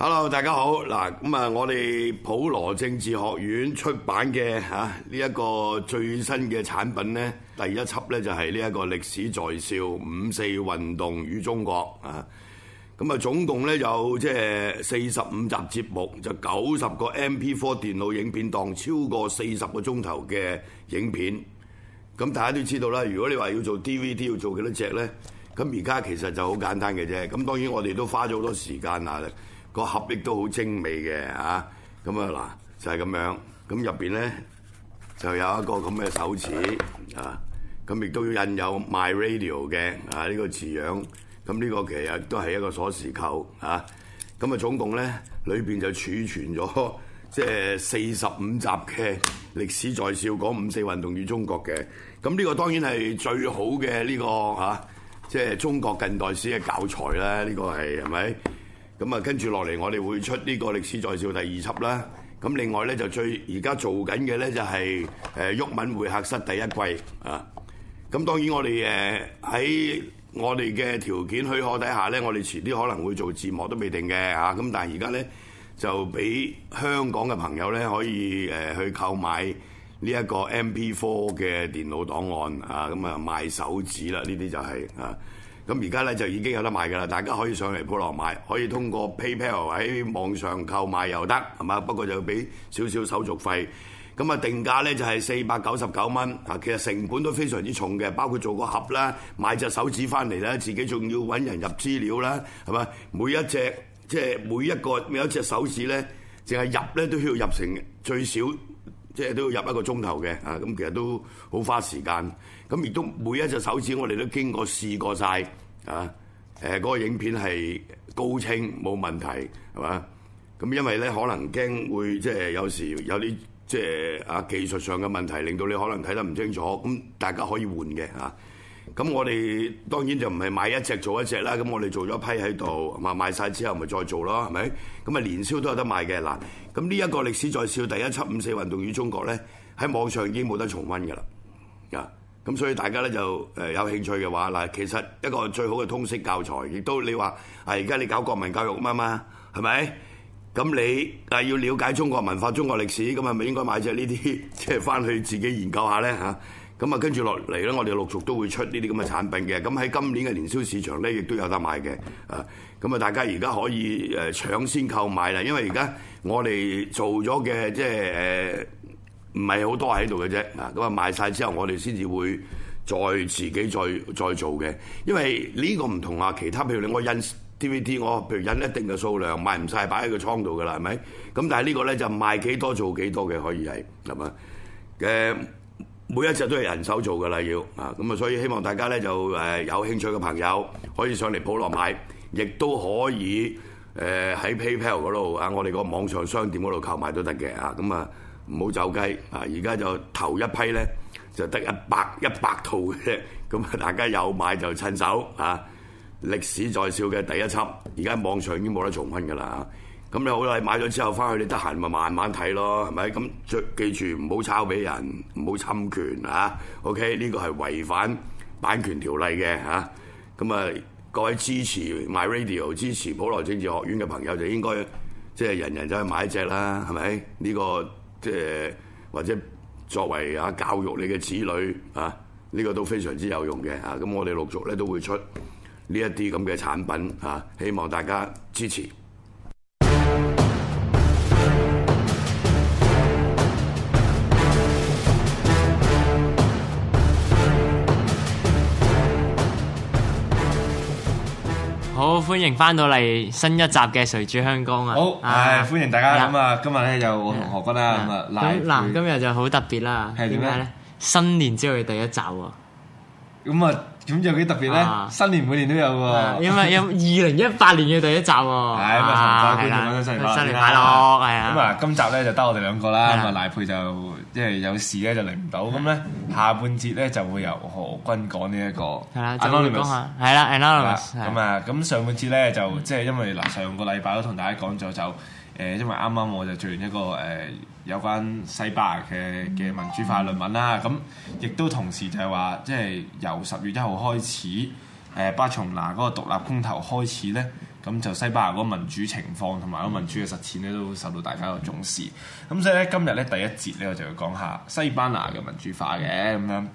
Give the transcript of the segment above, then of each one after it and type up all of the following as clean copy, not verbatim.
Hello， 大家好。嗱，咁啊，我哋普羅政治學院出版嘅呢一個最新嘅產品呢，第一輯呢就係呢一個歷史在笑5·4運動與中國啊。咁啊，總共呢有即係45集節目，就90個 MP4 電腦影片檔，超過40個鐘頭嘅影片。咁大家都知道啦，如果你話要做 DVD 要做幾多隻呢？咁而家其實就好簡單嘅啫。咁當然我哋都花咗好多時間啊。個盒亦都好精美嘅嚇，咁啊嗱就係咁樣，咁入邊咧就有一個咁嘅手指啊，咁亦都要印有 My Radio 嘅呢個字樣，咁呢個其實都係一個鎖匙扣嚇，咁啊總共咧裏邊就儲存咗即係45集嘅歷史在笑講5·4運動與中國嘅，咁呢個當然係最好嘅呢個即係中國近代史嘅教材啦，呢個係咪？咁啊，跟住落嚟，我哋會出呢個歷史在笑第2輯啦。咁另外咧，就而家做緊嘅咧就係毓民會客室第1季啊。咁當然我哋喺我哋嘅條件許可底下咧，我哋遲啲可能會做字幕都未定嘅嚇。咁但係而家咧就俾香港嘅朋友咧可以去購買呢一個 MP4 嘅電腦檔案啊。咁啊賣手指啦，呢啲就係啊。咁而家咧就已經有得賣㗎啦，大家可以上嚟普羅買，可以通過 PayPal 喺網上購買又得，係嘛？不過就要俾少少手續費。咁啊定價咧就係499蚊啊，其實成本都非常之重嘅，包括做個盒啦、買隻手指翻嚟啦，自己仲要揾人入資料啦，係嘛？每一隻即係每一隻手指咧，淨係入咧都要入成最少。即係都要入1個鐘頭嘅啊！咁其實都好花時間。咁亦都每一隻手指我哋都經過試過晒啊！嗰個影片係高清冇問題係嘛？咁因為咧可能驚會即係有時有啲即係技術上嘅問題，令到你可能睇得唔清楚。咁大家可以換嘅啊！咁我哋當然就唔係買一隻做一隻啦。咁我哋做咗一批喺度，賣晒之後咪再做咯，係咪？咁啊年宵都有得賣嘅嗱。咁呢一個歷史在笑第1輯5·4運動與中國咧，喺網上已經冇得重溫㗎啦。啊，咁所以大家咧就有興趣嘅話嗱，其實一個最好嘅通識教材，亦都你話而家你搞國民教育嘛，係咪？咁你要了解中國文化、中國歷史，咁係咪應該買隻呢啲即係翻去自己研究下咧嚇？咁啊，跟住落嚟咧，我哋陸續都會出呢啲咁嘅產品嘅。咁喺今年嘅年宵市場咧，亦都有得買嘅。啊，咁啊，大家而家可以搶先購買啦，因為而家我哋做咗嘅即係唔係好多喺度嘅啫。啊，咁啊賣晒之後，我哋先至會再自己再做嘅。因為呢個唔同啊，其他譬如我印 DVD， 我譬如印一定嘅數量，賣唔晒擺喺個倉度㗎啦，係咪？咁但係呢個咧就賣幾多做幾多嘅，可以係嘛？每一隻都係人手做㗎啦，要啊，咁啊，所以希望大家咧就有興趣嘅朋友可以上嚟普羅買，亦都可以喺 PayPal 嗰度啊，我哋個網上商店嗰度購買都得嘅啊，咁啊唔好走雞啊！而家就頭一批咧就得100套嘅啫，咁啊大家有買就趁手啊！歷史在笑嘅第1輯，而家網上已經冇得重溫㗎啦。咁你好啦，買咗之後翻去你得閒咪慢慢睇咯，係咪？咁記住唔好抄俾人，唔好侵權啊 ！OK， 呢個係違反版權條例嘅嚇。咁啊，各位支持 My Radio、支持普羅政治學院嘅朋友就應該即係人人走去買一隻啦，係咪？呢個即係或者作為教育你嘅子女啊，呢個都非常之有用嘅嚇。咁我哋陸續咧都會出呢一啲咁嘅產品嚇，希望大家支持。 好，歡迎翻到嚟新一集嘅誰主香江啊！ 好，歡迎大家咁啊！今日咧就我同何君啦，咁啊嗱，今日就好特別啦，係點解咧？新年之後嘅第1集喎， 咁啊，咁有幾特別咧？新年每年都有喎， 因為2018年嘅第1集喎， 係咁啊！同各位觀眾講聲新年快樂， 係啊！ 咁啊，今集咧就得我哋兩個啦，咁啊賴珮就即係有事咧就嚟唔到，咁咧下半節咧就會由何君講呢一個係啦，就會講下係啦 Anonymous 咁啊，咁上半節咧就即係因為嗱上個禮拜都同大家講咗就因為啱啱我就做完一個有關西班牙嘅民主化論文啦，咁亦都同時就係話即係由10月1號開始巴塞隆拿嗰個獨立公投開始咧， 咁就西班牙嗰個民主情況同埋嗰個民主嘅實踐咧都受到大家嘅重視。咁所以咧今日咧第一節咧我就要講下西班牙嘅民主化嘅咁樣。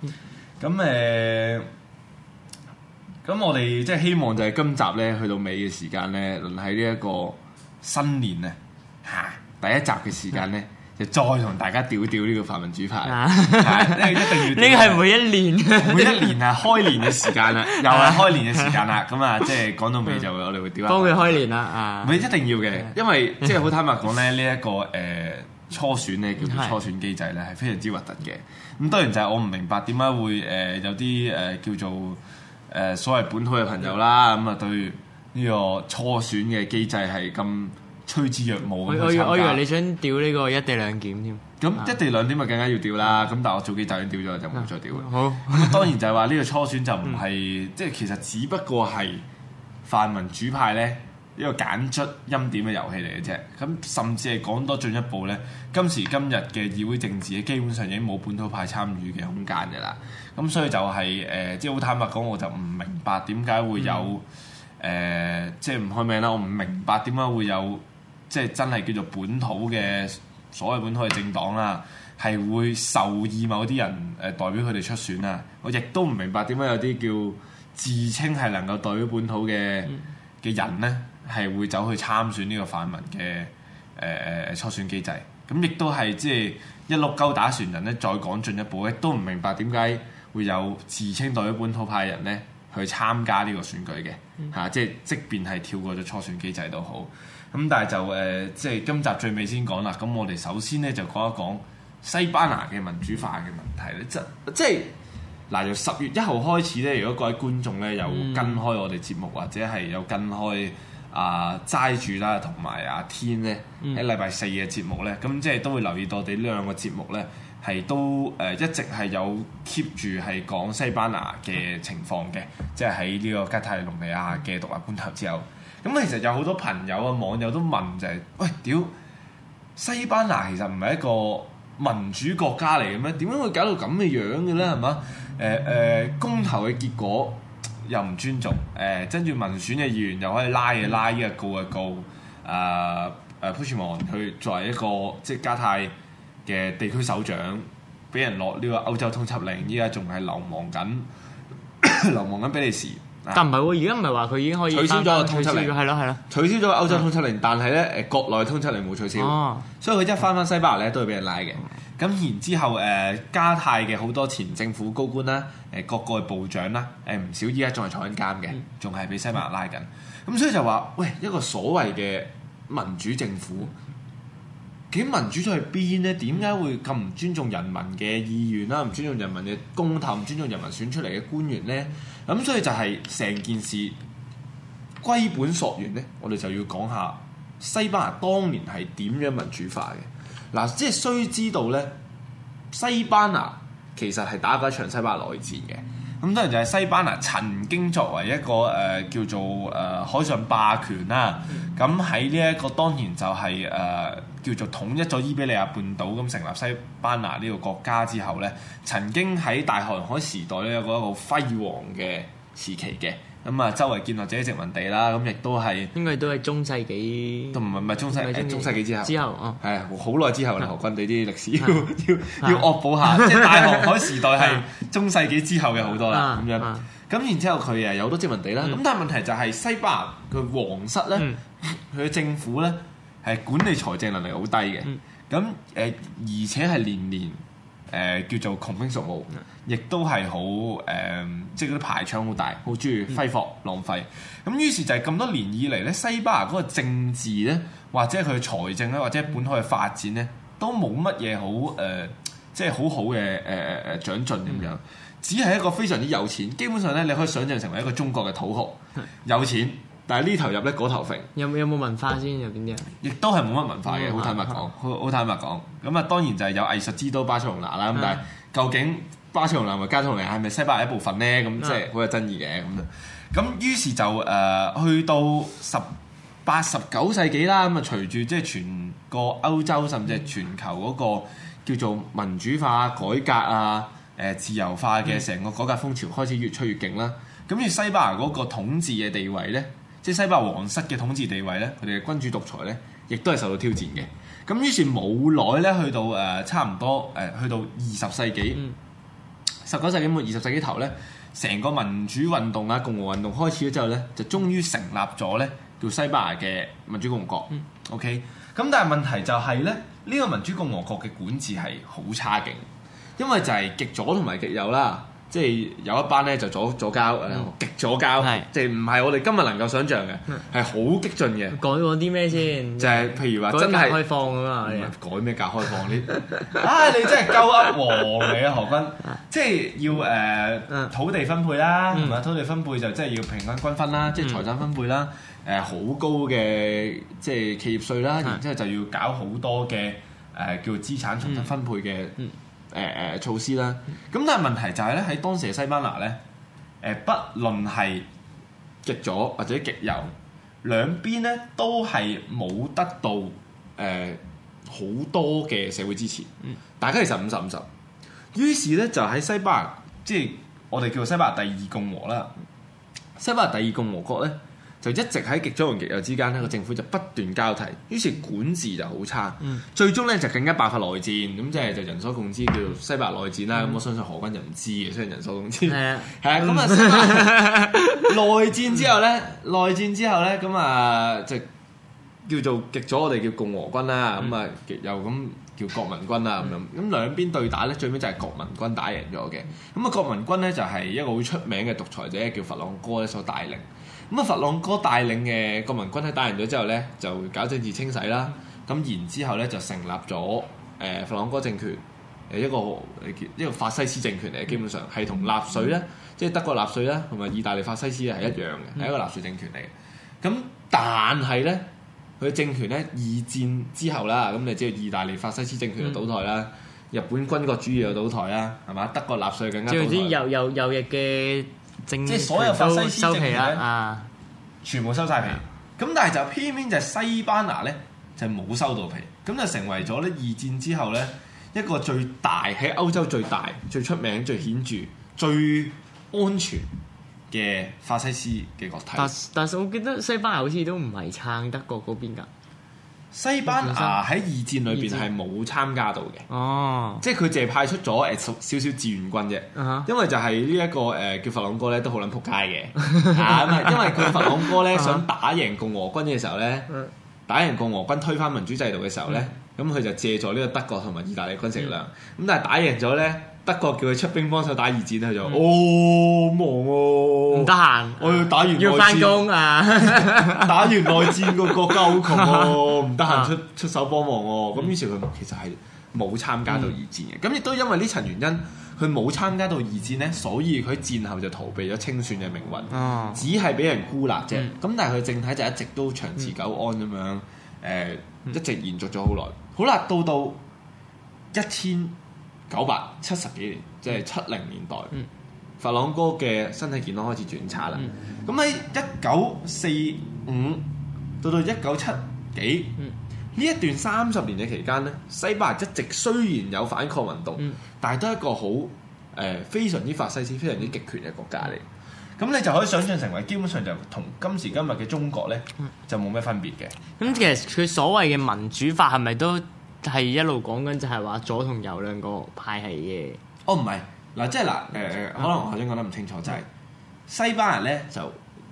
咁我哋即係希望就係今集咧去到尾嘅時間咧，輪喺呢一個新年啊第一集嘅時間咧，就再同大家屌呢個泛民主派，因為一定要。呢個係每一年開年嘅時間啦，又係開年嘅時間啦。咁啊，即係講到尾就我哋會屌下。 幫佢開年啦唔係一定要嘅，因為即係好坦白講咧，呢一個初選咧叫做初選機制咧係非常之核突嘅。咁當然就係我唔明白點解會有啲叫做所謂本土嘅朋友啦，咁啊對呢個初選嘅機制係咁趨之若鶩。 我以為你想屌呢個一地兩檢添。 咁一地兩檢咪更加要屌啦。咁但係我早幾集已經屌咗，就唔會再屌。 好。 咁當然就係話呢個初選就唔係即係其實只不過係泛民主派咧一個揀出欽點嘅遊戲嚟嘅啫。咁甚至係講多進一步咧，今時今日嘅議會政治基本上已經冇本土派參與嘅空間嘅啦。咁所以就係即係好坦白講，我就唔明白點解會有即係唔開名啦。我唔明白點解會有即係真係叫做本土嘅所謂本土嘅政黨啦，係會授意某啲人代表佢哋出選啦。我亦都唔明白點解有啲叫自稱係能夠代表本土嘅人咧，係會走去參選呢個泛民嘅初選機制。咁亦都係即係一碌鳩打船人咧，再講進一步咧，都唔明白點解會有自稱代表本土派嘅人咧去參加呢個選舉嘅即便係跳過咗初選機制都好。咁但係就即係今集最尾先講啦。咁我哋首先咧就講一講西班牙嘅民主化嘅問題咧，即係嗱由10月1號開始咧，如果各位觀眾咧有跟開我哋節目或者係有跟開齋主啦同埋阿天咧喺禮拜4嘅節目咧，咁即係都會留意到我哋呢兩個節目咧係都一直係有 keep 住係講西班牙嘅情況嘅，即係喺呢個加泰隆尼亞嘅獨立公投之後。咁其實有好多朋友啊網友都問就係：喂，屌西班牙其實唔係一個民主國家嚟嘅咩？點解會搞到咁嘅樣嘅咧？係嘛？公投嘅結果又唔尊重，跟住民選嘅議員又可以拉嘅拉，依個告嘅告。Puigdemont 佢作為一個即係加泰嘅地區首長，俾人落呢個歐洲通緝令，依家仲係流亡緊比利時。 但唔係喎，而家唔係話佢已經可以取消咗個通緝令， 係咯， 取消咗個歐洲通緝令，但係咧國內通緝令冇取消，所以佢一翻西班牙咧都會俾人拉嘅。咁然之後加泰嘅好多前政府高官啦，各個部長啦，唔少依家仲係坐緊監嘅，仲係俾西班牙拉緊。咁所以就話喂，一個所謂嘅民主政府，究竟民主咗去邊咧？點解會咁唔尊重人民嘅意願啦？唔尊重人民嘅公投，唔尊重人民選出嚟嘅官員咧？咁所以就係成件事歸本溯源咧，我哋就要講下西班牙當年係點樣民主化嘅。嗱，即係須知道咧，西班牙其實係打過一場西班牙內戰嘅。咁當然就係西班牙曾經作為一個叫做海上霸權啦。咁喺呢一個當然就係叫做統一咗伊比利亞半島，咁成立西班牙呢個國家之後咧，曾經喺大航海時代咧有個好輝煌嘅時期嘅。咁啊，周圍建立自己殖民地啦，咁亦都係應該都係中世紀， 都唔係中世紀之後係好耐之後啦。何君你啲歷史要惡補下，即係大航海時代係中世紀之後嘅好多啦。咁樣咁然之後佢有好多殖民地啦。咁但係問題就係西班牙佢皇室咧，佢嘅政府咧係管理財政能力好低嘅。咁而且係年年叫做窮兵黷武，亦都係好即係嗰啲排場好大，好中意揮霍浪費。咁於是就係咁多年以嚟咧，西班牙嗰個政治咧，或者佢財政咧，或者本土嘅發展咧，都冇乜嘢好即係好好嘅長進咁樣。只係一個非常之有錢，基本上咧你可以想象成為一個中國嘅土豪，有錢，但係呢頭入咧嗰頭揈。有冇文化先？有邊啲啊？亦都係冇乜文化嘅，好坦白講，好坦白講。咁啊，當然就係有藝術之都巴塞隆拿啦。咁但係究竟巴塞隆拿同埋加泰隆尼亞係咪西班牙一部分咧？咁即係好有爭議嘅咁。咁於是就去到18、19世紀啦。咁啊，隨住即係全個歐洲甚至係全球嗰個叫做民主化、改革啊、自由化嘅成個改革風潮開始越吹越勁啦。咁而西班牙嗰個統治嘅地位咧， 即係西班牙皇室嘅統治地位咧，佢哋嘅君主獨裁咧，亦都係受到挑戰嘅。咁於是冇耐咧，去到差唔多去到20世紀、19世紀末、20世紀頭咧，成個民主運動啊、共和運動開始咗之後咧，就終於成立咗咧叫西班牙嘅民主共和國。OK， 咁但係問題就係咧，呢個民主共和國嘅管治係好差勁，因為就係極左同埋極右啦。即係有一班咧就左膠，極左膠，即係唔係我哋今日能夠想像嘅，係好激進嘅。 改過啲咩先？就係譬如話真係開放㗎嘛？ 改咩革開放？你真係鳩噏王嚟啊，何君！即係要土地分配啦，係咪？土地分配就即係要平均均分啦，即係財產分配啦。好高嘅即係企業稅啦，然之後就要搞好多嘅叫資產重新分配嘅。措施啦，咁但係問題就係咧，喺當時嘅西班牙咧，不論係極左或者極右，兩邊咧都係冇得到好多嘅社會支持，大家其實50-50。於是咧就喺西班牙，即係我哋叫做西班牙第二共和啦。西班牙第二共和國咧，就一直喺極左同極右之間咧，個政府就不斷交替，於是管治就好差，最終咧就更加爆發內戰，咁即係就人所共知叫做西班牙內戰啦。咁我相信何君就唔知嘅，雖然人所共知。係啊，咁啊，內戰之後咧，咁啊就叫做極左，我哋叫共和軍啦，咁啊極右咁叫國民軍啦，咁樣。咁兩邊對打咧，最尾就係國民軍打贏咗嘅。咁啊，國民軍咧就係一個好出名嘅獨裁者，叫佛朗哥咧所帶領。咁啊，佛朗哥帶領嘅國民軍喺打贏咗之後咧，就搞政治清洗啦。咁然之後咧，就成立咗佛朗哥政權，一個法西斯政權嚟嘅，基本上係同納粹咧，即係德國納粹啦，同埋意大利法西斯係一樣嘅，係一個納粹政權嚟嘅。咁但係咧，佢政權咧二戰之後啦，咁你知道意大利法西斯政權就倒台啦，日本軍國主義又倒台啦，係嘛？德國納粹更加倒台。即係啲右翼嘅。即係所有法西斯政權咧，全部收晒皮。咁但係就偏偏就係西班牙咧，就冇收到皮。咁就成為咗咧二戰之後咧一個最大喺歐洲最大、最出名、最顯著、最安全嘅法西斯嘅國體。 但係我記得西班牙好似都唔係撐德國嗰邊㗎。 西班牙喺二戰裏邊係冇參加到嘅，即係佢淨係派出咗少少志願軍啫，因為就係呢一個叫佛朗哥咧都好撚撲街嘅，因為佢佛朗哥咧想打贏共和軍嘅時候咧，打贏共和軍推翻民主制度嘅時候咧，咁佢就借助呢個德國同埋意大利軍事力量，咁但係打贏咗咧，德國叫佢出兵幫手打二戰，佢就忙喎， 唔得閒， 我要打完內戰， 要翻工啊， 打完內戰個國家好窮喎，唔得閒出手幫忙喎，咁於是佢其實係冇參加到二戰嘅，咁亦都因為呢層原因，佢冇參加到二戰咧，所以佢戰後就逃避咗清算嘅命運，只係俾人孤立啫。咁但係佢政體就一直都長治久安咁樣，一直延續咗好耐。好啦，到1970幾年，即係70年代，佛朗哥嘅身體健康開始轉差啦。咁喺1945到1970幾呢一段30年嘅期間咧，西班牙一直雖然有反抗運動，但係都係一個好非常之法西斯、非常之極權嘅國家嚟。咁你就可以想象成為基本上就同今時今日嘅中國咧，就冇咩分別嘅。 咁其實佢所謂嘅民主法係咪都係一路講緊就係話左同右兩個派系嘅？ 哦，唔係嗱，即係嗱可能我頭先講得唔清楚，就係西班牙咧就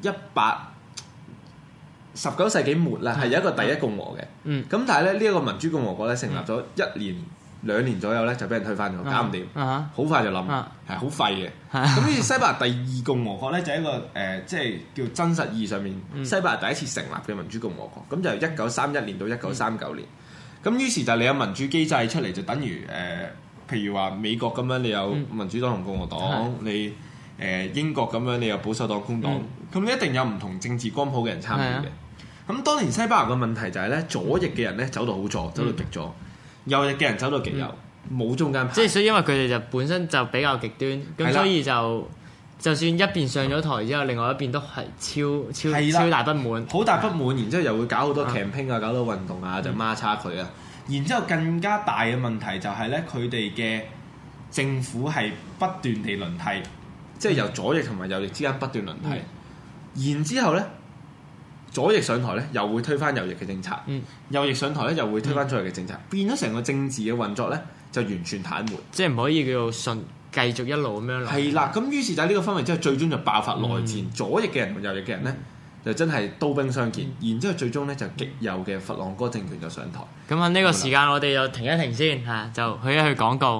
19世紀末啦，係有一個第一共和嘅。咁但係咧呢一個民主共和國咧成立咗1年2年左右咧就俾人推翻咗，搞唔掂，好快就冧，係好廢嘅。咁於是西班牙第二共和國咧就係一個即係叫真實意義上面西班牙第一次成立嘅民主共和國。咁就由1931年到1939年。咁於是就你有民主機制出嚟，就等於譬如話美國咁樣，你有民主黨同共和黨，你英國咁樣，你有保守黨、工黨，咁你一定有唔同政治光譜嘅人參與嘅。咁當年西班牙嘅問題就係咧，左翼嘅人咧走到好左，走到極左；右翼嘅人走到極右，冇中間派。 即係所以因為佢哋就本身就比較極端，咁所以就算一邊上咗台之後，另外一邊都係超大不滿， 好大不滿，然之後又會搞好多 campaign 啊，搞到運動啊，就孖叉佢啊。然之後更加大嘅問題就係咧，佢哋嘅政府係不斷地輪替，即係由左翼同埋右翼之間不斷輪替。然之後咧， 左翼上台咧又會推翻右翼嘅政策，右翼上台咧又會推翻左翼嘅政策，變咗成個政治嘅運作咧就完全癱瘓， 即係唔可以叫做繼續一路咁樣落。 係啦，咁於是就喺呢個氛圍之後，最終就爆發內戰，左翼嘅人同右翼嘅人咧就真係刀兵相見，然之後最終咧就極右嘅佛朗哥政權就上台。 咁喺呢個時間我哋就停一停先嚇，就去一去廣告。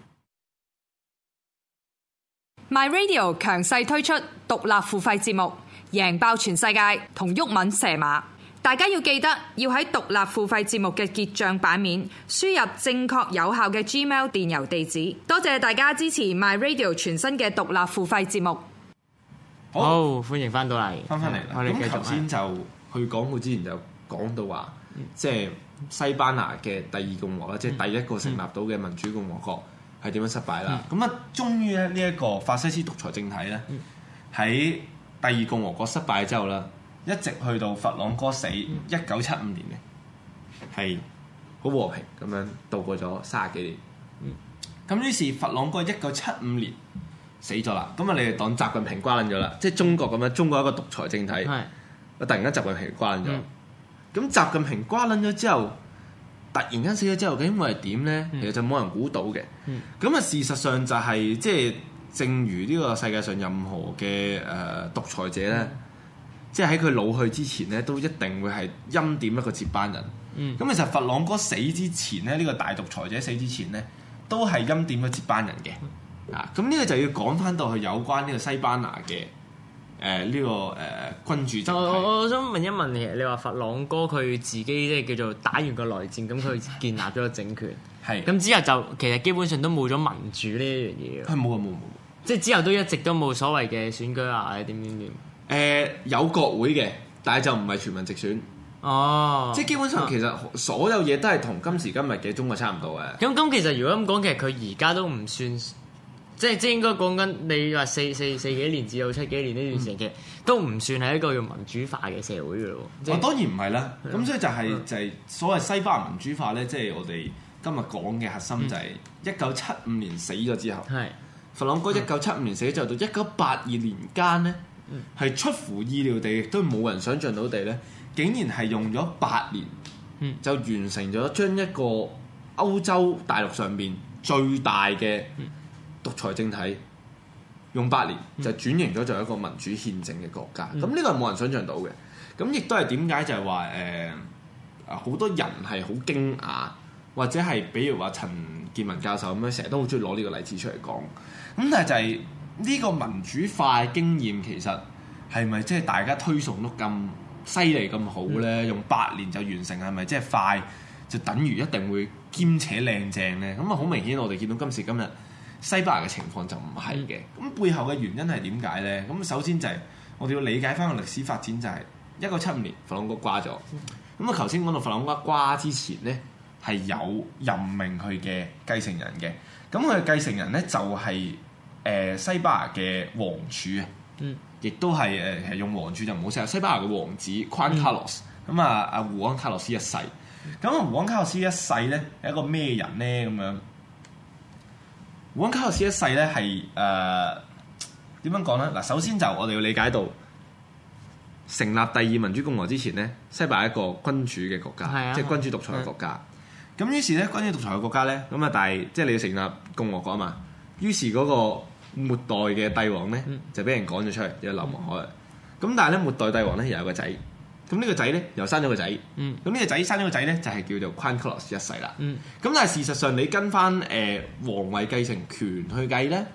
My Radio 強勢推出獨立付費節目，贏爆全世界同毓民射馬。大家要記得要喺獨立付費節目嘅結帳版面輸入正確有效嘅 Gmail 電郵地址。多謝大家支持 My Radio 全新嘅獨立付費節目。 好，歡迎翻到嚟， 翻嚟啦。 我哋繼續。 咁頭先就去廣告之前就講到話，即係西班牙嘅第二共和啦，即係第一個成立到嘅民主共和國係點樣失敗啦。咁啊，終於咧呢一個法西斯獨裁政體咧，喺第二共和國失敗之後啦，一直去到佛朗哥死1975年嘅，係好和平咁樣度過咗30幾年。咁於是佛朗哥1975年死咗啦，咁啊你哋當習近平瓜撚咗啦，即係中國咁樣，中國一個獨裁政體，突然間習近平瓜撚咗。咁習近平瓜撚咗之後，突然間死咗之後，究竟會係點咧？其實就冇人估到嘅。咁啊事實上就係即係正如呢個世界上任何嘅獨裁者咧，即係喺佢老去之前咧，都一定會係欽點一個接班人。咁其實佛朗哥死之前咧，呢個大獨裁者死之前咧，都係欽點咗接班人嘅。咁呢個就要講翻到去有關呢個西班牙嘅呢個君主政體。 我想問一問你話佛朗哥佢自己即係叫做打完個內戰，咁佢建立咗個政權， 係咁之後就其實基本上都冇咗民主呢一樣嘢。 係冇， 即係之後都一直都冇所謂嘅選舉啊，點。 有國會嘅，但係就唔係全民直選。 哦， 即係基本上其實所有嘢都係同今時今日嘅中國差唔多嘅。 咁其實如果咁講，其實佢而家都唔算。即係應該講緊你話四幾年至到7幾年呢段時間，其實都唔算係一個用民主化嘅社會嘅咯。 當然唔係啦。咁所以就係所謂西班牙民主化咧，即係我哋今日講嘅核心就係1975年死咗之後，佛朗哥1975年死咗之後到1982年間咧，係出乎意料地，亦都冇人想像到地咧，竟然係用咗8年，就完成咗將一個歐洲大陸上邊最大嘅獨裁政體用8年就轉型咗做一個民主憲政嘅國家，咁呢個係冇人想像到嘅。咁亦都係點解就係話好多人係好驚訝，或者係比如話陳健民教授咁樣，成日都好中意攞呢個例子出嚟講。咁但係就係呢個民主化嘅經驗，其實係咪即係大家推崇得咁犀利咁好咧？用8年就完成，係咪即係快就等於一定會兼且靚正咧？咁啊好明顯，我哋見到今時今日西班牙嘅情況就唔係嘅。咁背後嘅原因係點解咧？咁首先就係我哋要理解翻個歷史發展，就係1975年佛朗哥瓜咗。咁啊頭先講到佛朗哥瓜之前咧，係有任命佢嘅繼承人嘅。咁佢嘅繼承人咧就係西班牙嘅王儲啊，亦都係用王儲就唔好寫，西班牙嘅王子 Juan Carlos。咁啊胡安卡洛斯一世。咁胡安卡洛斯一世咧係一個咩人咧？咁樣胡安卡洛斯一世咧係點樣講咧？嗱，首先就我哋要理解到成立第二民主共和之前咧，西班牙係一個君主嘅國家，即係君主獨裁嘅國家。咁於是咧，君主獨裁嘅國家咧，咁啊，但係即係你要成立共和國啊嘛。於是嗰個末代嘅帝王咧，就俾人趕咗出嚟，又流亡海外。咁但係咧，末代帝王咧又有個仔，咁呢個仔咧又生咗個仔。咁呢個仔生咗個仔咧，就係叫做 Juan Carlos 一世啦。咁但係事實上，你跟翻皇位繼承權去計咧，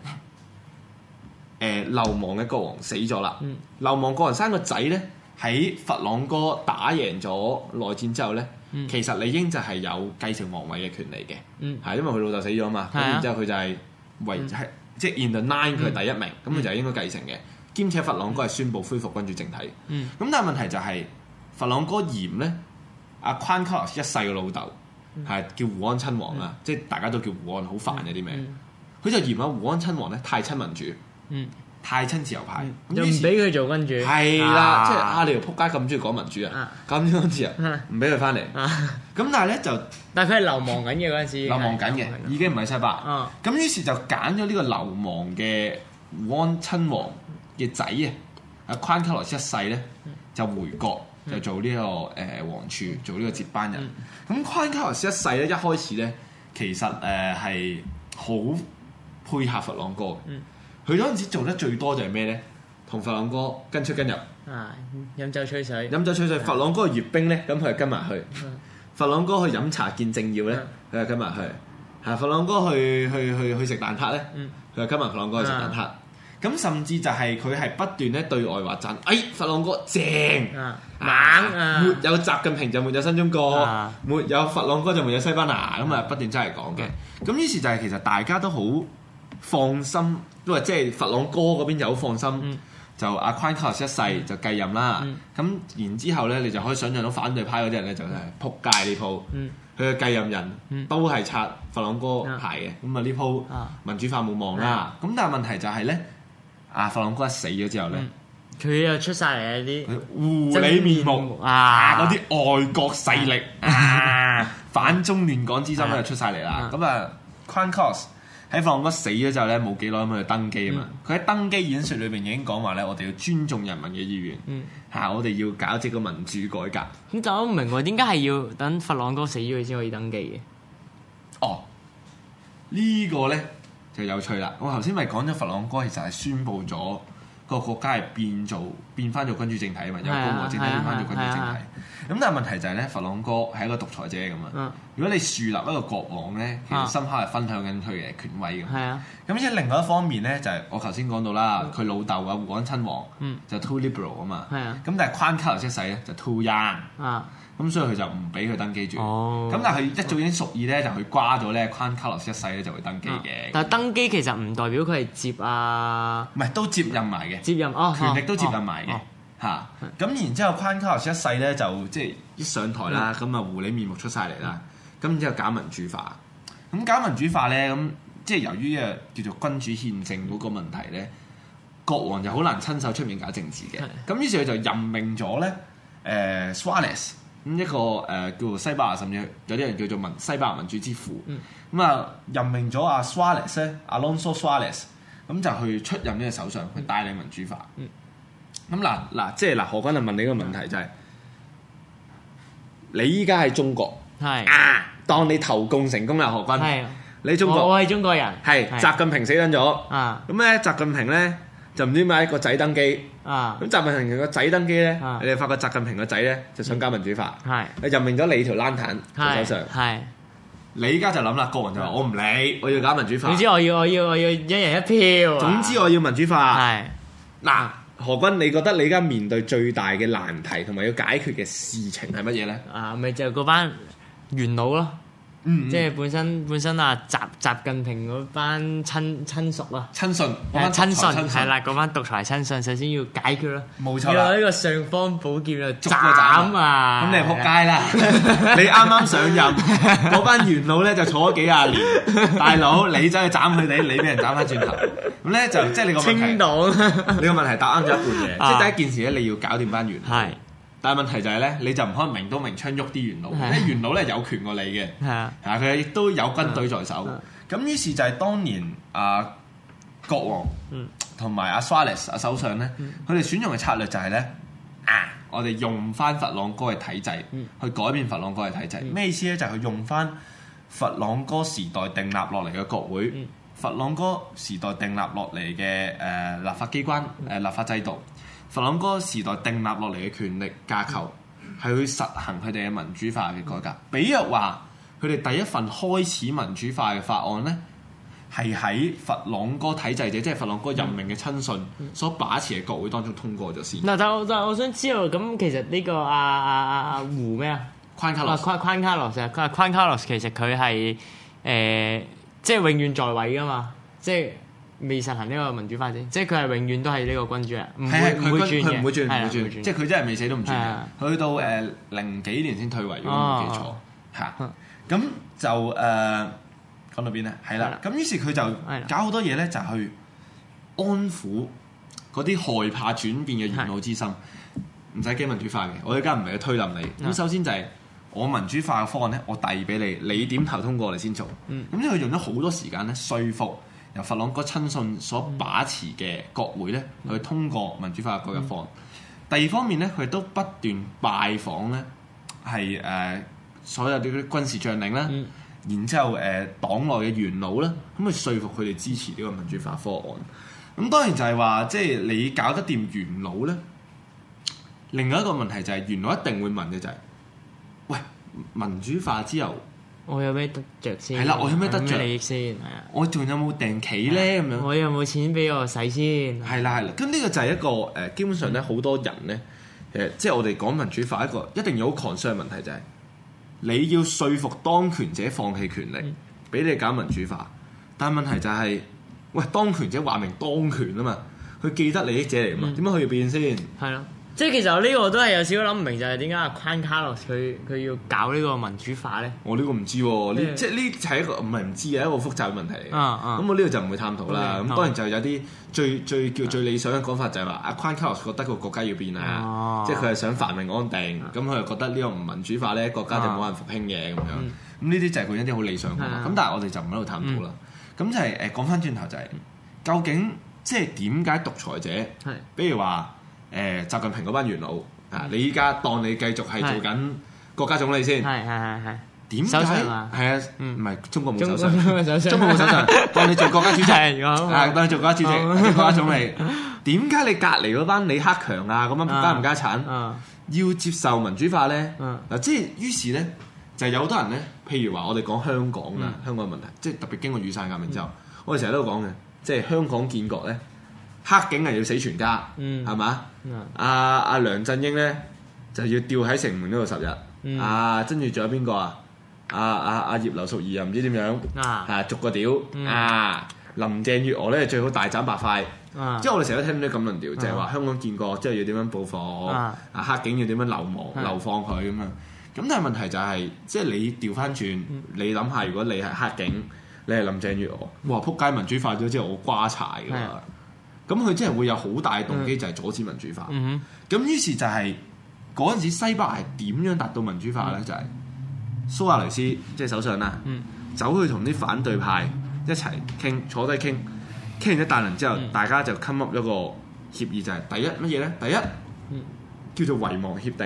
流亡嘅國王死咗啦。流亡國王生個仔咧，喺佛朗哥打贏咗內戰之後咧。其實理應就係有繼承皇位嘅權利嘅，係因為佢老豆死咗嘛，咁然之後佢就係即係 in the line 佢係第一名，咁佢就應該繼承嘅。兼且佛朗哥係宣布恢復君主政體，咁但係問題就係佛朗哥嫌咧，阿 Juan Carlos 一世嘅老豆係叫胡安親王啊，即係大家都叫胡安，好煩嘅啲名，佢就嫌阿胡安親王咧太親民主。太親自由派， 又唔俾佢做君主， 係啦，即係你條撲街咁中意講民主啊，咁中意自由，唔俾佢翻嚟。咁但係咧就，但係佢係流亡緊嘅嗰陣時，流亡緊嘅，已經唔係西班牙。咁於是就揀咗呢個流亡嘅胡安親王嘅仔啊，阿 Juan Carlos 一世咧就回國， 就做呢個王儲，做呢個接班人。咁昆卡洛斯一世咧，一開始咧其實係好配合佛朗哥嘅。佢嗰陣時做得最多就係咩咧？同佛朗哥跟出跟入。 飲酒吹水。 佛朗哥去閱兵咧，咁佢就跟埋去。佛朗哥去飲茶見政要咧，佢就跟埋去。係佛朗哥去食蛋撻咧，佢就跟埋佛朗哥去食蛋撻。咁甚至就係佢係不斷咧對外話讚，佛朗哥正猛，沒有習近平就沒有新中國，沒有佛朗哥就沒有西班牙，咁不斷真係講嘅。咁於是就係其實大家都好放心，因為即係佛朗哥嗰邊就好放心，就阿昆卡洛斯一世就繼任啦。咁然之後咧，你就可以想象到反對派嗰啲人咧就係撲街呢鋪，佢嘅繼任人都係拆佛朗哥牌嘅。咁呢鋪民主化冇望啦。咁但係問題就係咧。佛朗哥一死咗之後咧， 佢又出晒嚟啲狐狸面目嗰啲外國勢力反中亂港之心咧就出晒嚟啦。咁昆卡洛斯喺佛朗哥死咗之後咧，冇幾耐咁佢登基啊嘛。佢喺登基演説裏邊已經講話咧，我哋要尊重人民嘅意願，我哋要搞這個民主改革。 咁就我唔明喎，點解係要等佛朗哥死咗佢先可以登基嘅？ 呢個咧就有趣啦！我頭先咪講咗佛朗哥其實係宣布咗個國家係變翻做君主政體啊嘛，由共和政體變翻做君主政體。咁但係問題就係咧，佛朗哥係一個獨裁者咁啊。如果你樹立一個國王咧，其實深刻係分享緊佢嘅權威咁。咁即係另外一方面咧，就係我頭先講到啦，佢老豆啊胡安親王就 too liberal 啊嘛。咁但係昆卡洛斯一世咧就 too young。咁所以佢就唔俾佢登基住。咁但係佢一早已經屬意咧，就佢瓜咗咧，昆卡洛斯一世咧就會登基嘅。 但係登基其實唔代表佢係接唔係都接任埋嘅，權力都接任埋嘅嚇。咁然之後，昆卡洛斯一世咧就即係一上台啦，咁狐狸面目出晒嚟啦。咁然之後搞民主化，咁搞民主化咧，咁即係由於叫做君主憲政嗰個問題咧，國王就好難親手出面搞政治嘅。咁於是佢就任命咗咧Suarez。咁一個叫做西班牙，甚至有啲人叫做西班牙民主之父。任命咗阿 Suarez 咧，Alonso Suarez，咁就去出任呢個首相，去帶領民主化。咁嗱，即係何君就問你個問題就係：你依家喺中國，當你投共成功啦，何君，你中國， 我係中國人， 係習近平死緊咗，咁咧習近平咧就唔知點解個仔登基。咁習近平個仔登基咧，你哋發覺習近平個仔咧就想搞民主化，任命咗你條爛壇做首相。你依家就諗啦，國王就話我唔理，我要搞民主化。 總之我要一人一票。 總之我要民主化。嗱，何君，你覺得你而家面對最大嘅難題同埋要解決嘅事情係乜嘢咧？ 咪就嗰班元老咯。即係本身習近平嗰班親屬啊， 親信係啦，嗰班獨裁親信，首先要解決咯， 冇錯要攞呢個尚方寶劍嚟斬啊！ 咁你係撲街啦！你啱啱上任，嗰班元老咧就坐咗幾廿年，大佬你走去斬佢哋，你俾人斬翻轉頭，咁咧就即係你個問題， 清黨， 你個問題答啱咗一半嘅，即係第一件事咧，你要搞掂班元老。但係問題就係咧，你就唔可能明刀明槍喐啲元老，因為元老咧有權過你嘅，佢亦都有軍隊在手。咁於是就係當年國王同埋阿 Suarez 首相咧，佢哋選用嘅策略就係咧，我哋用翻佛朗哥嘅體制去改變佛朗哥嘅體制。咩意思咧？就係佢用翻佛朗哥時代訂立落嚟嘅國會，佛朗哥時代訂立落嚟嘅立法機關立法制度。佛朗哥時代訂立落嚟嘅權力架構係去實行佢哋嘅民主化嘅改革。比如話，佢哋第一份開始民主化嘅法案咧，係喺佛朗哥體制者，即係佛朗哥任命嘅親信所把持嘅國會當中通過咗先。但我想知道，咁其實呢個胡咩啊？ 昆卡洛斯， 昆卡洛斯其實佢係即係永遠在位噶嘛，即係。未實行呢個民主化啫，即係佢係永遠都係呢個君主啊，唔會轉嘅， 唔會轉，即係佢真係未死都唔轉嘅。去到00幾年先退位，如果冇記錯嚇。咁就講到邊咧？係啦，咁於是佢就搞好多嘢咧，就去安撫嗰啲害怕轉變嘅元老之心，唔使驚民主化嘅。我而家唔係去推冧你。咁首先就係我民主化嘅方案咧，我遞俾你，你點投通過我哋先做。咁即係佢用咗好多時間咧，說服由佛朗哥親信所把持嘅國會咧，去通過民主化嘅改革方案。 第二方面咧，佢都不斷拜訪咧，係所有啲軍事將領啦，然之後黨內嘅元老啦，咁去說服佢哋支持呢個民主化方案。咁當然就係話，即係你搞得掂元老咧。另外一個問題就係元老一定會問嘅就係，喂，民主化之後， 我有咩得着先？ 係啦，我有咩得着利益先？係啊， 我仲有冇訂企咧？咁樣我有冇錢俾我使先？ 係啦。咁呢個就係一個基本上咧，好多人咧，即係我哋講民主化一個一定有好 concern 嘅問題就係，你要說服當權者放棄權力，俾你搞民主化。但係問題就係，喂，當權者話明當權啊嘛，佢既得利益者嚟嘛，點解佢要變先？ 係咯。即係其實我呢個都係有少少諗唔明，就係點解阿 Juan Carlos 佢要搞呢個民主化咧？ 我呢個唔知喎，即係呢係一個唔係唔知嘅一個複雜嘅問題嚟。咁我呢個就唔會探討啦。咁當然就有啲最理想嘅講法就係話阿 Juan Carlos 覺得個國家要變啊，即係佢係想繁榮安定，咁佢又覺得呢個唔民主化咧，國家就冇人復興嘅咁樣。咁呢啲就係佢一啲好理想嘅講法。咁但係我哋就唔喺度探討啦。咁就係講翻轉頭就係究竟即係點解獨裁者，比如話習近平嗰班元老啊，你依家當你繼續係做緊國家總理先， 係點解？係啊，唔係中國冇首相， 中國冇首相， 當你做國家主席，當你做國家主席、國家總理，點解你隔離嗰班李克強啊咁樣家唔家產要接受民主化咧？嗱，即係於是咧就有好多人咧，譬如話我哋講香港啊，香港嘅問題，即係特別經過雨傘革命之後，我哋成日都講嘅，即係香港建國咧，黑警係要死全家，係嘛？阿梁振英咧就要吊喺城門嗰度10日，跟住仲有邊個啊？阿葉劉淑儀又唔知點樣，逐個屌，林鄭月娥咧最好大斬白塊，即係我哋成日都聽到啲咁論調，就係話香港建國之後要點樣報復，黑警要點樣流放佢咁樣。咁但係問題就係，即係你調翻轉，你諗下，如果你係黑警，你係林鄭月娥，哇！撲街民主化咗之後，我瓜柴㗎嘛。咁佢真係會有好大嘅動機，就係阻止民主化。咁於是就係嗰陣時，西班牙係點樣達到民主化咧？就係蘇亞雷斯即係首相啦，走去同啲反對派一齊傾，坐低傾完一大輪之後，大家就 come up 一個協議，就係第一乜嘢咧？第一叫做遺忘協定，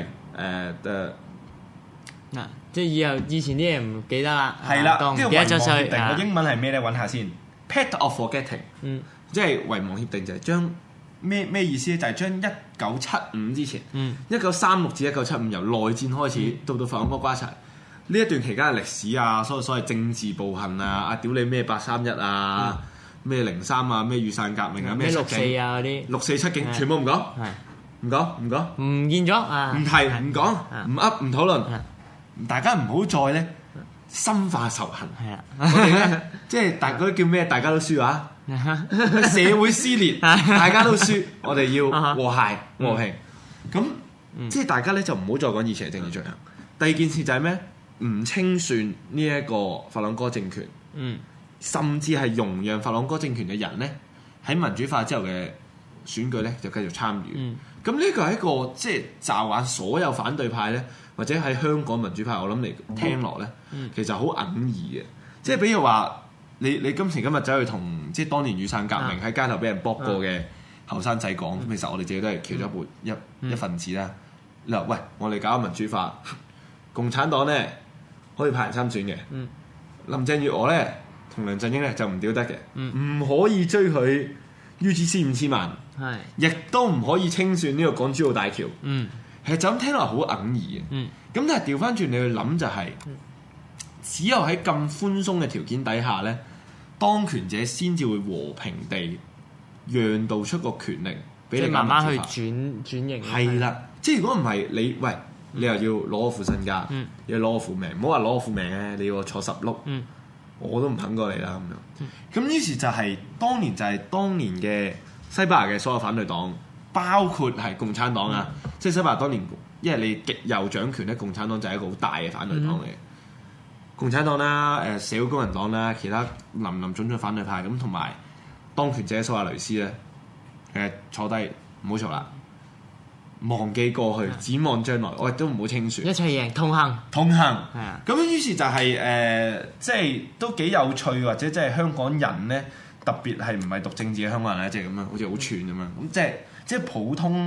即係以前啲嘢唔記得啦。 係啦，呢個遺忘協定個英文係咩咧？揾下先。Pact of Forgetting。即係遺忘協定就係將咩意思咧？就係將1975之前，1936至1975由內戰開始到法國瓜柴呢一段期間嘅歷史啊，所謂政治暴行啊，屌你咩831啊，咩03啊，咩雨傘革命啊，咩 6·4啊嗰啲 6·47警全部唔講，唔見咗啊， 唔提唔講唔噏唔討論，大家唔好再咧深化仇恨。係啊，我哋咧即係大家叫咩？大家都輸啊！社會撕裂，大家都輸，我哋要和諧和平。咁即係大家咧就唔好再講以前嘅政治罪行。第二件事就係咩？唔清算呢一個法朗哥政權，甚至係容讓法朗哥政權嘅人咧喺民主化之後嘅選舉咧就繼續參與。咁呢個係一個即係驟眼所有反對派咧，或者喺香港民主派，我諗嚟聽落咧，其實好哽耳嘅。即係比如話。你今時今日走去同即係當年雨傘革命喺街頭俾人搏過嘅後生仔講，其實我哋自己都係其中一份子啦。你話喂，我哋搞民主化，共產黨咧可以派人參選嘅，林鄭月娥咧同梁振英咧就唔屌得嘅，唔可以追佢 UGC 5000萬，亦都唔可以清算呢個港珠澳大橋。其實就咁聽落好哽耳嘅。咁但係調翻轉你去諗就係。只有喺咁寬鬆嘅條件底下咧，當權者先至會和平地讓渡出個權力俾你慢慢去轉型。 係啦，即係如果唔係你又要攞我副身家，又要攞我副命，唔好話攞我副命咧，你要我坐10碌，我都唔肯過嚟啦咁樣。咁於是就係當年嘅西班牙嘅所有反對黨，包括係共產黨啊，即係西班牙當年，因為你極右掌權咧，共產黨就係一個好大嘅反對黨嚟嘅。共產黨啦、社會工人黨啦，其他林種種反對派咁，同埋當權者蘇亞雷斯咧，坐低唔好嘈啦，忘記過去，展望將來，我亦都唔好清算， 一齊贏，通行。係啊， 咁於是就係即係都幾有趣，或者即係香港人咧，特別係唔係讀政治嘅香港人咧，即係咁樣，好似好串咁樣，咁即係普通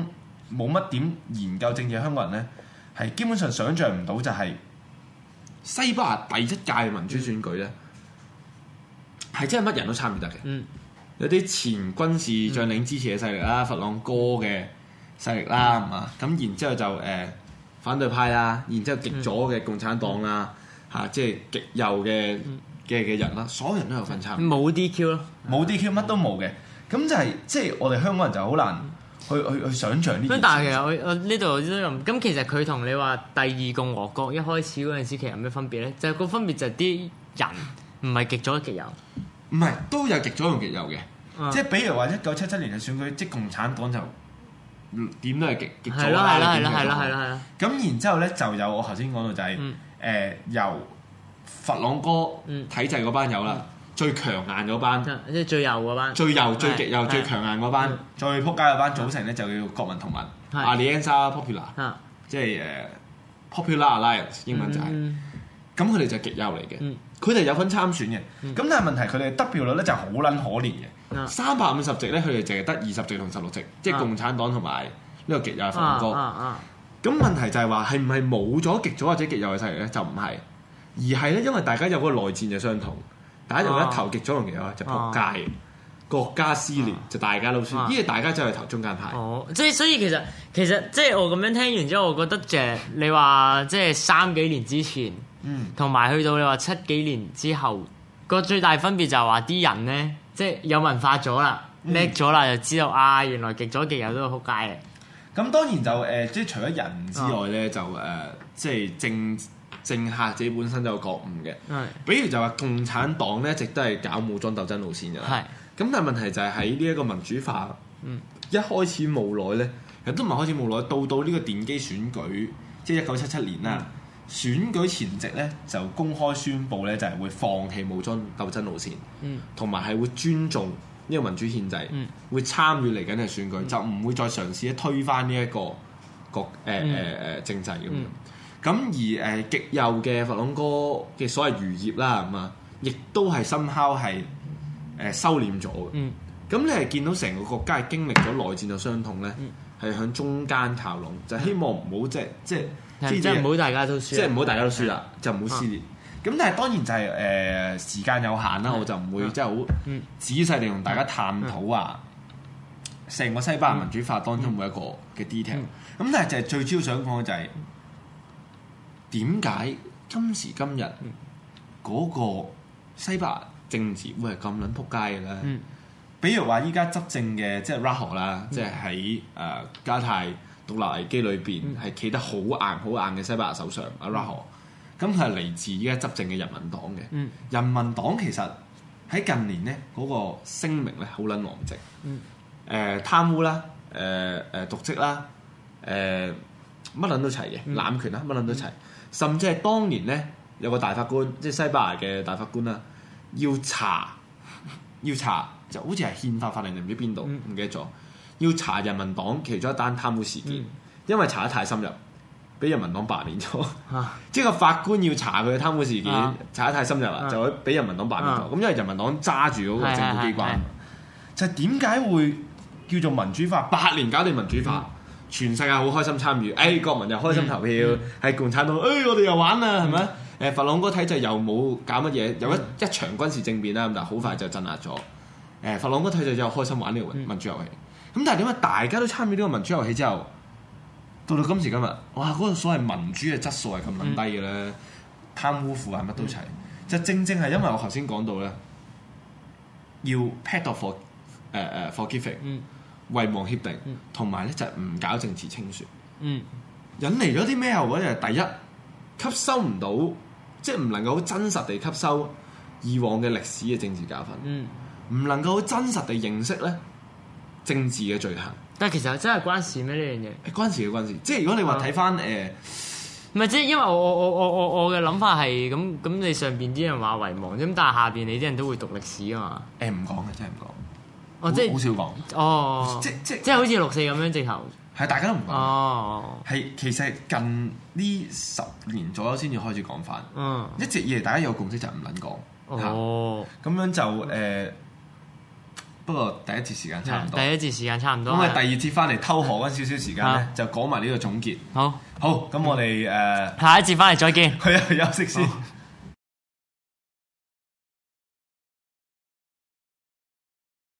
冇乜點研究政治嘅香港人咧，係基本上想像唔到就係西班牙第一屆民主選舉咧，係真係乜人都參與得嘅。有啲前軍事將領支持嘅勢力啦，佛朗哥嘅勢力啦，係嘛？咁然之後就反對派啦，然之後極左嘅共產黨啦，即係極右嘅人啦，所有人都有份參與。 冇 DQ 咯， 冇 DQ 乜都冇嘅，咁就係即係我哋香港人就好難去想像呢件事。 但係其實我呢度都咁，咁其實佢同你話第二共和國一開始嗰陣時，其實有咩分別咧？就係個分別就係啲人唔係極左極右， 唔係都有極左同極右嘅。即係比如話1977年嘅選舉，即係共產黨就點都係極左啦。 係啦。 咁然之後咧就有我頭先講到就係由佛朗哥體制嗰班友啦，最強硬嗰班， 即係最右嗰班， 最右、最極右、最強硬嗰班，最撲街嗰班組成咧就叫國民同盟 Alianza Popular， 即係Popular Alliance 英文就係。咁佢哋就極右嚟嘅，佢哋有份參選嘅。咁但係問題佢哋得票率咧就好撚可憐嘅，350席咧佢哋淨係得20席同16席，即係共產黨同埋呢個極右佛朗哥。咁問題就係話係唔係冇咗極左或者極右嘅勢力咧？就唔係，而係咧因為大家有嗰個內戰就相同，大家就一投極左同極右就撲街，國家撕裂就大家都輸，因為大家就係投中間派。 即係所以其實即係我咁樣聽完之後，我覺得就係你話即係3幾年之前。同埋去到你話7幾年之後，個最大分別就係話啲人咧，即係有文化咗啦，叻咗啦，就知道原來極左極右都係撲街嘅。 咁當然就即係除咗人之外咧，就即係政客自己本身就有覺悟嘅。比如就話共產黨咧，一直都係搞武裝鬥爭路線嘅。咁但係問題就係喺呢一個民主化，一開始冇耐咧，其實都唔係開始冇耐，到呢個電機選舉，即係1977年啦。選舉前夕咧就公開宣布咧就係會放棄武裝鬥爭路線，同埋係會尊重呢個民主憲制，會參與嚟緊嘅選舉，就唔會再嘗試推翻呢一個政制咁樣。咁而極右嘅佛朗哥嘅所謂餘孽啦，咁啊，亦都係somehow係收斂咗嘅。咁你係見到成個國家係經歷咗內戰嘅傷痛咧，係向中間靠攏，就希望唔好即係唔好大家都輸，即係唔好大家都輸啦，就唔好撕裂。咁但係當然就係時間有限啦，我就唔會即係好仔細地同大家探討成個西班牙民主法當中每一個嘅 detail。咁但係就係最主要想講嘅就係點解今時今日嗰個西班牙政治會係咁撚撲街嘅咧？比如話依家執政嘅即係 Rajoy 啦，即係喺加泰獨立危機裏邊係企得好硬嘅西班牙首相阿 Rajoy，咁佢係嚟自依家執政嘅人民黨嘅。人民黨其實喺近年咧嗰個聲明咧好撚狼藉，貪污啦，瀆職啦，乜撚都齊嘅，濫權啦，乜撚都齊，甚至係當年咧有個大法官，即係西班牙嘅大法官啦，要查就好似係憲法法令定唔知邊度唔記得咗。要查人民黨其中一單貪污事件，因為查得太深入，俾人民黨罷免咗。即係個法官要查佢嘅貪污事件，查得太深入啦，就會俾人民黨罷免咗。咁因為人民黨揸住嗰個政府機關，就係點解會叫做民主化？8年搞掂民主化，全世界好開心參與，國民又開心投票，係共產黨，我哋又玩啦，係咪？佛朗哥體制又冇搞乜嘢，有一場軍事政變啦，咁但係好快就鎮壓咗。佛朗哥體制又開心玩呢個民主遊戲。咁但係點解大家都參與呢個民主遊戲之後，到今時今日，哇！嗰個所謂民主嘅質素係咁撚低嘅咧，貪污腐敗乜都齊，就正係因為我頭先講到咧，要 pact of forgiving，遺忘協定，同埋咧就係唔搞政治清算，引嚟咗啲咩後果咧？第一，吸收唔到，即係唔能夠好真實地吸收以往嘅歷史嘅政治教訓，唔能夠好真實地認識咧政治嘅罪行。 但係其實真係關事咩呢樣嘢？ 關事，即係如果你話睇翻唔係即係因為我嘅諗法係咁，你上邊啲人話遺忘咁，但係下邊你啲人都會讀歷史啊嘛。 唔講嘅，真係唔講。 即係好少講。即係好似6.4咁樣直頭。 係大家都唔講。係其實近呢10年左右先至開始講翻。一直以嚟大家有共識就唔撚講。咁樣就不過第一節時間差唔多。 第一節時間差唔多。 咁啊，第二節翻嚟偷河嗰少少時間咧，就講埋呢個總結。 好， 好，咁我哋下一節翻嚟再見。 去休息先。